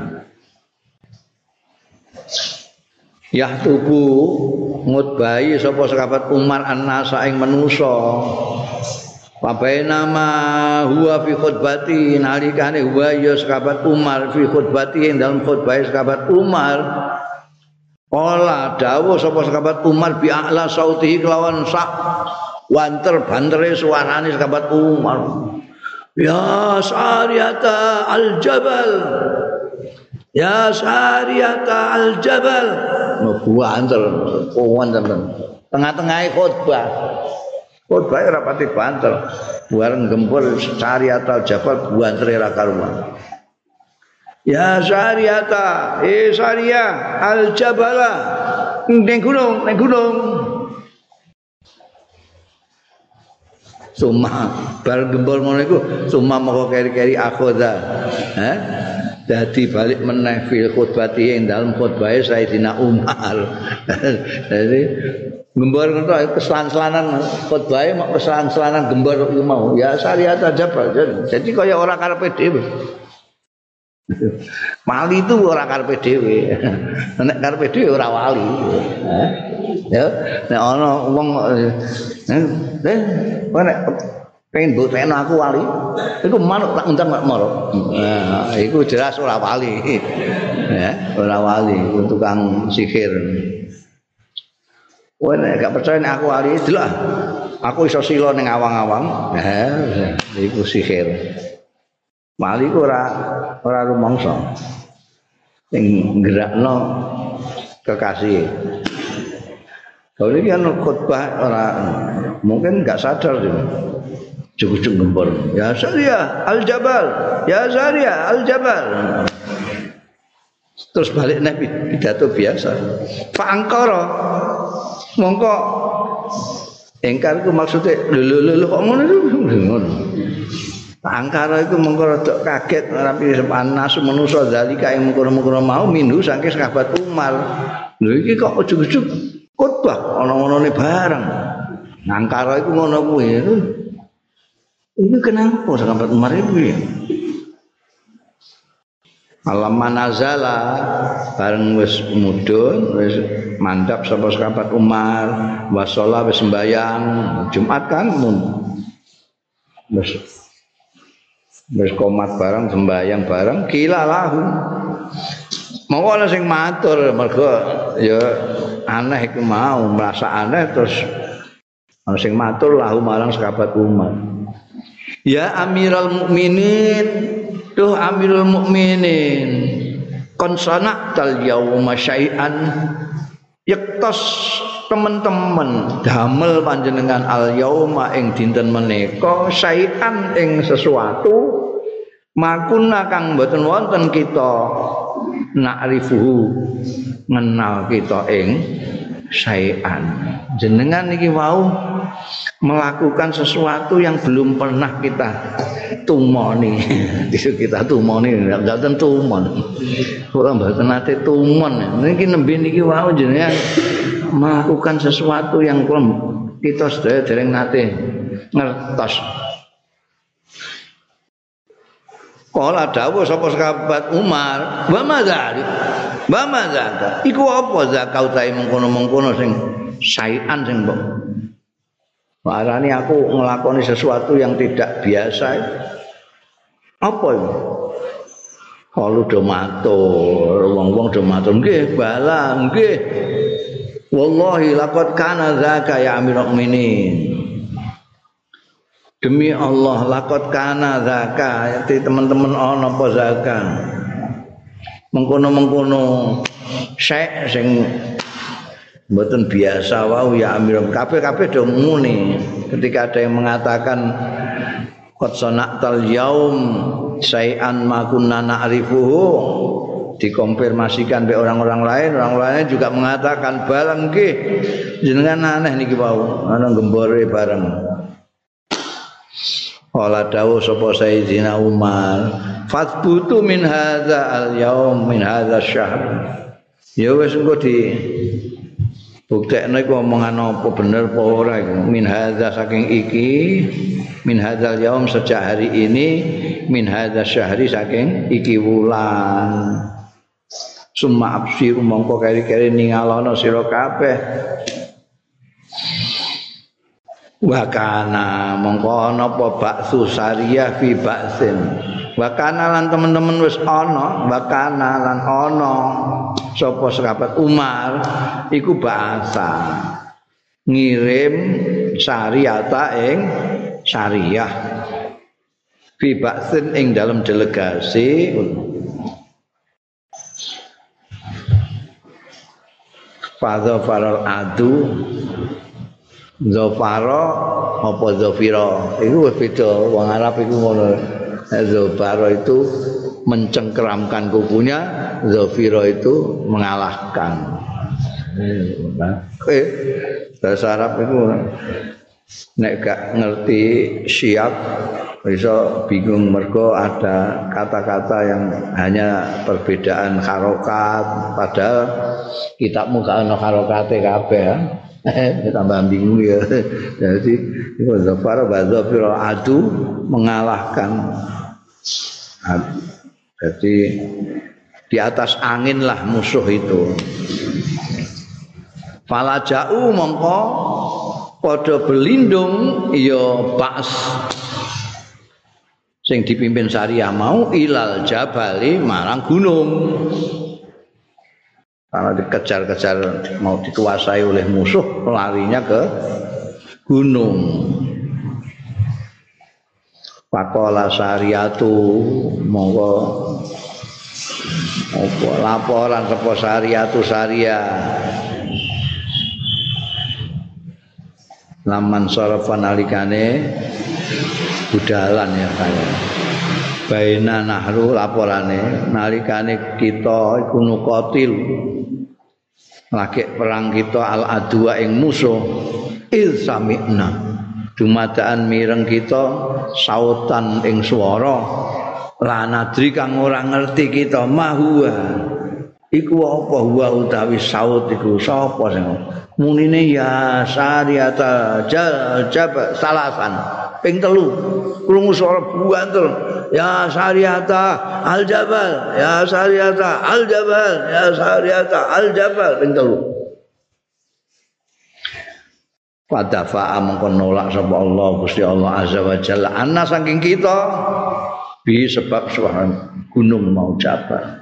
Yahtubu ngutbahi sapa sahabat Umar an-nasa ing manusa. Wa bainama huwa fi khutbati nalikane huwa ya sahabat Umar fi khutbati ing dalam khutbah sahabat Umar. Ola dawuh sapa sahabat Umar bi a'la sautihi kelawan sak wanter bantere suarane sahabat Umar. Ya Sariyata al-Jabal, ya Sariyata al-Jabal. No banter, kawan teman. Tengah-tengah khutbah, khutbah rapati banter. Bareng gempur Sariyata al-Jabal bantere ra karuan. Ya Sariyata, eh Sariyah al-Jabala, neng gunung, neng gunung. Suma bar gembol ngono iku suma moko keri-keri akhoda. Heh. Dadi balik meneh fil khutbati ing dalem khutbahe Sayyidina Umar. Jadi Gembor ngono keselan-selanan khotbahe mak keselan-selanan gembor iku mau. Ya syariat aja jadi kaya ora karepe dhewe. Wali itu ora karepe dhewe. Nek karepe dhewe ora wali. Ya, nek ana wong eh nek pengen buktekno aku wali, iku manuk tak undang mak moro. Nah, iku jelas ora wali. Ya, ora wali, tukang sihir. Kowe nek gak percaya nek aku wali delok. Aku iso sila ning awang-awang. Nah, iku sihir. Wali ku ora ora rumangsa. Sing gerakno kekasih. Kalau ini kan khutbah ora mungkin enggak sadar dia. Cukup-cukup gembor. Ya Zaria Al-Jabal, ya Zaria Al-Jabal. Terus balik nek pidato biasa. Fa angkara mongko engkar ku maksude lho lho lho kok ngono ngono. Angkara iku mengko rada kaget ora pisan nasu manusa zalika ing mengkono-mengkono mau minhu saking sahabat Umar. Lho iki kok ujug-ujug khotbah ana-anane bareng. Angkara iku ngono kuwi. Ini kenapa sahabat Umar iku ya? Alam manazala bareng wis mudhun wis mandhap sapa sahabat Umar wasala wis sembayang Jumat kan mun wis wis komat bareng sembayang bareng kila lahu mau ana sing matur mergo ya aneh iku mau merasa aneh terus ana sing matur lahu marang sahabat Umar ya Amirul Mukminin duh Amirul Mukminin kon sana'tal yauma syai'an yaktas teman-teman damel panjenengan al yauma ing dinten menika syai'an ing sesuatu makuna kang mboten wonten kita na'rifuhu ngenal kita ing syai'an jenengan iki wau melakukan sesuatu yang belum pernah kita tumoni. Kita tumoni enggak tentu tumon. Ora mboten nate tumon. Niki nembe niki wau jenengan melakukan sesuatu yang kita sedaya dereng nate ngertos. Kala dawuh sapa sahabat Umar, "Wa madzalik?" Wa madzaka? Iku apa zakau tae mengkono-mengkono sing syai'an sing mbok Warani aku ngelakoni sesuatu yang tidak biasa. Apa itu? Kalau do matur, wong-wong do matur, nggih bala, nggih. Wallahi laqad kana zaka ya Amirul Mukminin. Demi Allah laqad kana zaka, teman-teman ana apa zaka. Mengkono-mengkono syekh sing mboten biasa wau ya Amirul kabeh-kabeh do muni ketika ada yang mengatakan qad sana'tal yaum syai'an ma kunna na'rifuhu dikonfirmasikan oleh orang-orang lain orang lain juga mengatakan balang nggih jenengan aneh niki wau ana gembore bareng Qala dawuh sapa Sayyidina Umar fatbutu min hadza al yaum min hadza syahr ya wis engko di buktekno iku omongan apa bener apa ora iku min hadza saking iki min hadzal yaum sejak hari ini min hadza syahri saking iki wulan summa absir mongko keri-keri ningalono sira kabeh wa kana mongko ana apa baksu sariyah fi baksin wa kana lan teman-teman wis ana wa kana lan ana sapa sahabat Umar iku bahasa ngirim syariata ing syariah fi baksin ing dalam delegasi fadha faral adu zafara apa zafira iku wis beda wong Arab iku ngono zafara itu mencengkeramkan kukunya, zafira itu mengalahkan. Eh, bahasa Arab itu nek gak ngerti siap bisa bingung mergo ada kata-kata yang hanya perbedaan harokat padahal kitabmu gak ono harokate kabeh ya. tambah bingung ya. Jadi itu zafar bazafir adu mengalahkan. Jadi di atas angin lah musuh itu. Falajau mongko padha belindung ya Ba's sing dipimpin Sariyah mau ilal jabali marang gunung. Karena dikejar-kejar mau dikuasai oleh musuh, larinya ke gunung. Pakola Sariyatu monggo apa laporan sapa Sariyatu Sariyah. Laman sorofan alikane budalan ya kaya. Baina nahru laporane nalikane kita iku nuqatil lagi perang kita al adwa ing musuh il sami'na dumadaan mireng kita sautan ing swara lanadri kang ora ngerti kita mahua iku apa huwa utawi saut iku sapa sing munine ya Sariyata jab salasan ping telu krungu swara buantul ya Sariyata al jabal ya Sariyata al jabal ya Sariyata al jabal ping telu fadafa mongko nolak sapa Allah Gusti Allah azza wa jalla anna saking kita bi sebab suara gunung mau jabal.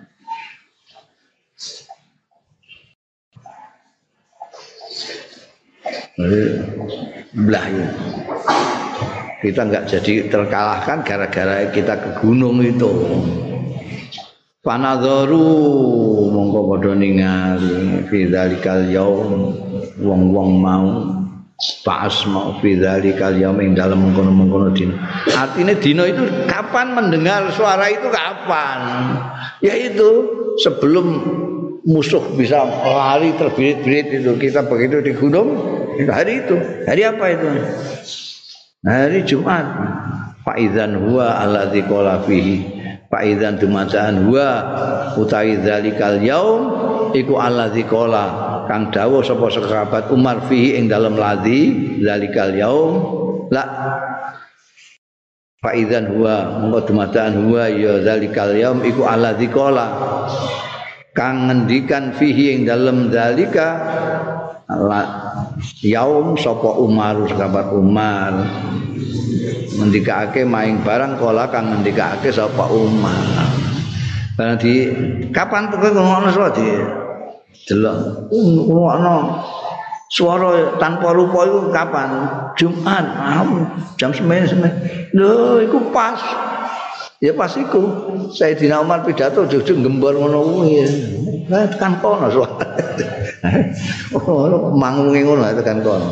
Belah ya. Kita enggak jadi terkalahkan gara-gara kita ke gunung itu. Panadharu mongko padha ningali fi dzalikal yaum wong-wong mau pas mau fi dzalikal yaum ing dalem mengkono-mengkono dina. Artinya dina itu kapan mendengar suara itu kapan? Yaitu sebelum musuh bisa lari terbirit-birit itu kita begitu di gunung hari itu. Hari apa itu? Hari Jumat. Faizan huwa alladzi qala fihi. Faizan dumadaan huwa utawi dzalikal yaum iku alladzi qala kang dawuh sapa sahabat Umar fihi ing dalem ladzi dzalikal yaum la faizan huwa monggo dumadaan huwa ya dzalikal yaum iku alladzi qala kang ngendikan fihi ing dalem dzalika yaum sapa Umar sahabat Umar ngendikake maing barang kala kang ngendikake sapa Umar. Barang di kapan kowe ngono suara di delok ngono suara tanpa rupa iku kapan? Jumat jam sembilan. Lho iku pas. Ya pas iku Sayyidina Umar pidato jujur gembor ngono kuwi. Lah tekan kono suara. Oh, mangunge ngono tekan kono.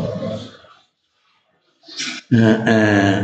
Heeh.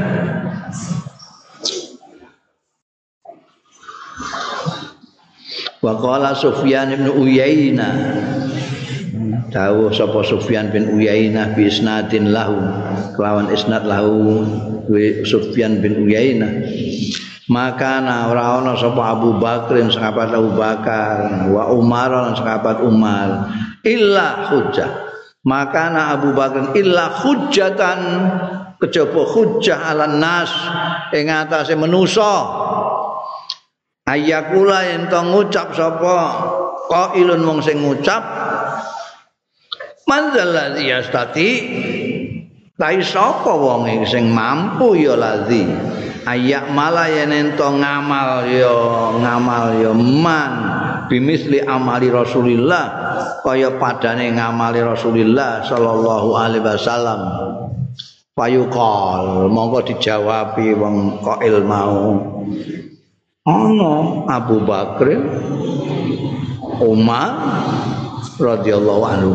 Wa qala Sufyan bin Uyainah. Dawuh sapa Sufyan bin Uyainah bi isnadin lahu kelawan isnad lahu Sufyan bin Uyainah. Maka ora ana sapa Abu Bakrin sahabat Abu Bakar wa Umar lan sahabat Umar illa hujjah. Maka ana Abu Bakrin illa hujjatan kejaba hujjah alan nas ing atase manusa. Ayakula yen to ngucap sapa qailun wong sing ngucap manzal ladzi yastati lai sapa wong sing mampu ya ladzi ayak malah yen ento ngamal ya ngamal ya man bimisli amali Rasulillah kaya padane ngamali Rasulillah sallallahu alaihi wasallam fayuqal monggo dijawabi wong qail mau ana Abu Bakar Umar radhiyallahu anhu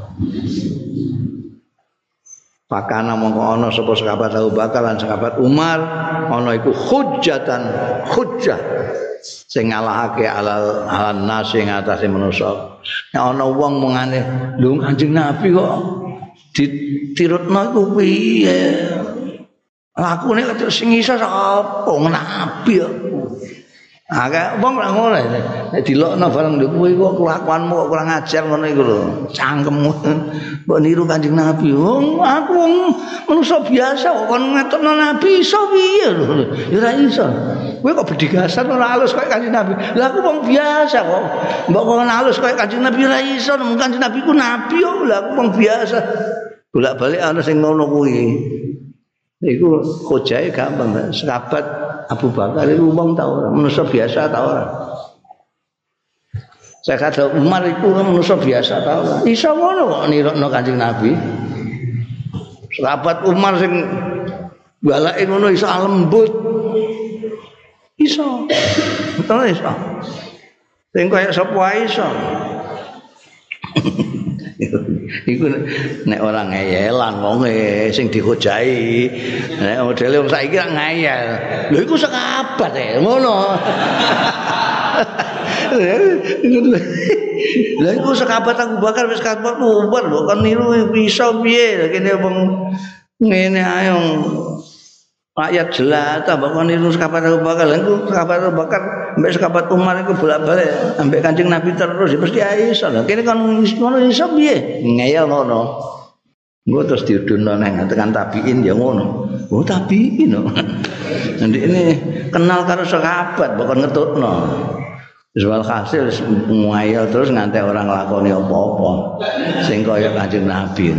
pakana mongko ana sapa sahabat Abu Bakar lan sahabat Umar ana iku hujjatan hujjah sing ngalahake alal alan nas ing atase manusa. Nek ana wong mengane lho Kanjeng Nabi kok ditirutno iku piye? Lakune kaya sing iso sapa nabi kok. Akeh wong ra ngono. Nek dilokno bareng lho kowe kok kelakuanmu kok kurang ajar ngono iku lho. Cangkemmu. Mbok niru Kanjeng Nabi. Wong aku wong manusa biasa kok kon ngetokno Nabi iso piye lho. Ya ora iso. Kowe kok bedigasan ora halus koyo Kanjeng Nabi. Lah aku wong biasa kok. Mbok kok halus koyo Kanjeng Nabi ora iso. Mung Kanjeng Nabi ku nabi kok. Lah aku wong biasa. Bolak-balik ana sing ngono kuwi. Iku hojae gampang. Sahabat Abu Bakar itu wong ta ora, manusia biasa ta ora. Saya kata Umar itu manusia biasa ta ora. Iso ngono kok nirokno Kanjeng Nabi. Sahabat Umar sing balake ngono iso lembut. Iso. Betul iso. Sing kaya sapa iso. Iku nek ora ngeyelan wong sing dihojai. Nek modele wong saiki ra ngeyel. Lho iku sekabat e, ngono. Lha iku sekabat Abu Bakar wis kabat Umar lho kan niru iso piye kene wong ngene ae rakyat jelata bakon niru sekabat Abu Bakar. Lha iku sekabat Abu Bakar mbek sekabat Umar iku bolak-balik ambek Kanjeng Nabi terus mesti iso. Lah kene kan ngono iso piye? Ngeyel ngono. Engko terus diudono nang tekan tabiin ya ngono. Oh tabiin no. Nanti ini kenal karo sekabat bakon ngetutno. Wis walhasil ngeyel terus nganti orang nglakoni apa-apa sing kaya Kanjeng Nabi.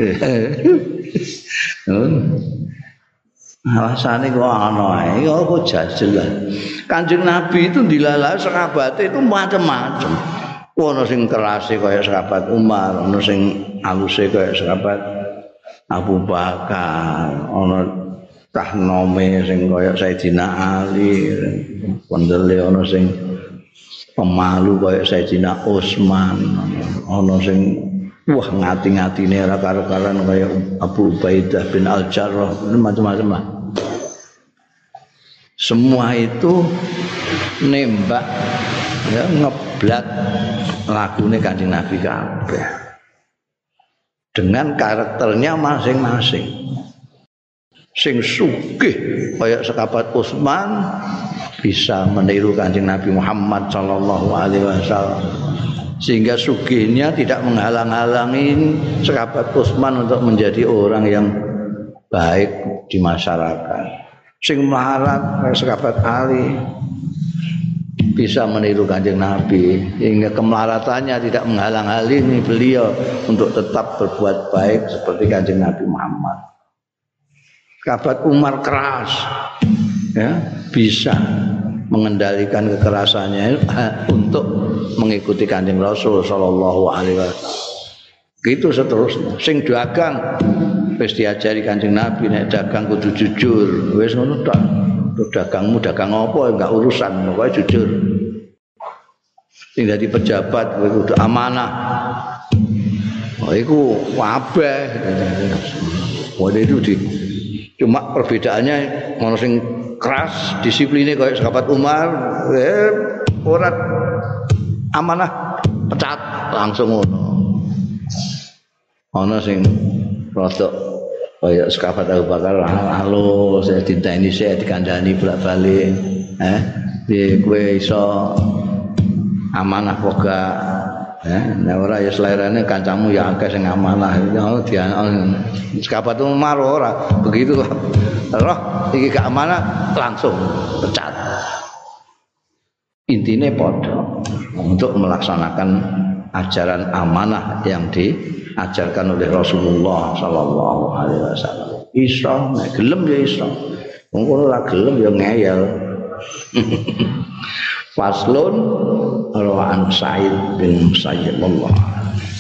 Alasannya kok ana ae, kok jajal. Kanjeng Nabi itu dilala sahabat itu macam-macam. Ono sing kerase kaya sahabat Umar, ono sing aluse kaya sahabat Abu Bakar, ono tahnome sing kaya Sayyidina Ali, pendele ono sing pemalu kaya Sayyidina Utsman, ono sing wah ngati-ngatine ora karo-karan kaya Abu Ubaidah bin Al-Jarrah, macam-macam lah. Semua itu nembak ya ngeblat lagune Kanjeng Nabi kabeh. Dengan karakternya masing-masing. Sing sugih kaya sekabat Utsman bisa meniru Kanjeng Nabi Muhammad sallallahu alaihi wasallam. Sehingga sugihnya tidak menghalang-halangi sahabat Utsman untuk menjadi orang yang baik di masyarakat. Sing melarat sahabat Ali bisa meniru Kanjeng Nabi, hingga kemelaratannya tidak menghalang-halangi beliau untuk tetap berbuat baik seperti Kanjeng Nabi Muhammad. Sahabat Umar keras, ya bisa mengendalikan kekerasannya untuk mengikuti Kanjeng Rasul sallallahu alaihi wasallam. Gitu seterusnya. Sing dagang wis diajari Kanjeng Nabi nek dagang kudu jujur. Wis ngono tok. Dagangmu dagang apa enggak urusan, pokoke jujur. Sing dadi pejabat kowe kudu amanah. Oh iku kabeh. Wae itu di cuma perbedaannya ono sing keras disiplinnya kayak sahabat Umar, eh, orang amanah pecat langsung ngono. Ono sing rodok kayak sahabat Abu Bakar, halo saya dinteni saya dikandani bolak-balik, eh, di kue iso amanah poga, eh, nek ora ya selerane kancamu ya akeh sing amanah, ya dia sahabat Umar ora begitu. Roh iki gak amanah langsung pecat. Intine padha untuk melaksanakan ajaran amanah yang diajarkan oleh Rasulullah sallallahu alaihi wasallam. Iso nek gelem ya iso. Wong ora gelem ya ngeyel. Faslun rawaan Sa'id bin Musayyib Allah.